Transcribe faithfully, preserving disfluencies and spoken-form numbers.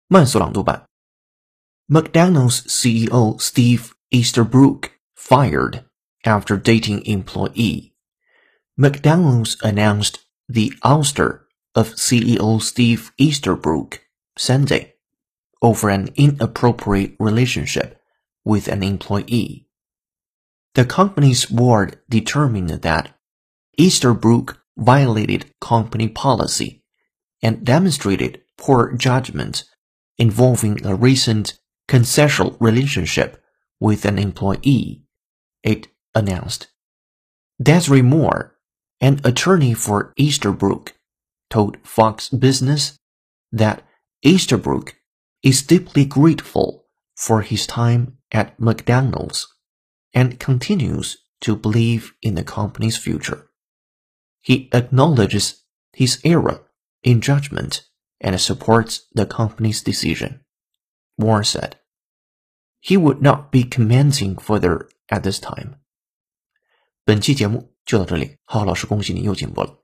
慢速朗读版。McDonald's C E O Steve Easterbrook fired after dating employee. McDonald's announced the ouster of C E O Steve Easterbrook Sunday over an inappropriate relationship with an employee. The company's board determined that Easterbrook violated company policy and demonstrated poor judgment involving a recent consensual relationship with an employee, it announced. Desiree Moore, an attorney for Easterbrook, told Fox Business that Easterbrook is deeply grateful for his time at McDonald's and continues to believe in the company's future. He acknowledges his error in judgment and supports the company's decision, Moore said. He would not be commenting further at this time. 本期节目就到这里，浩浩老师恭喜你又进步了。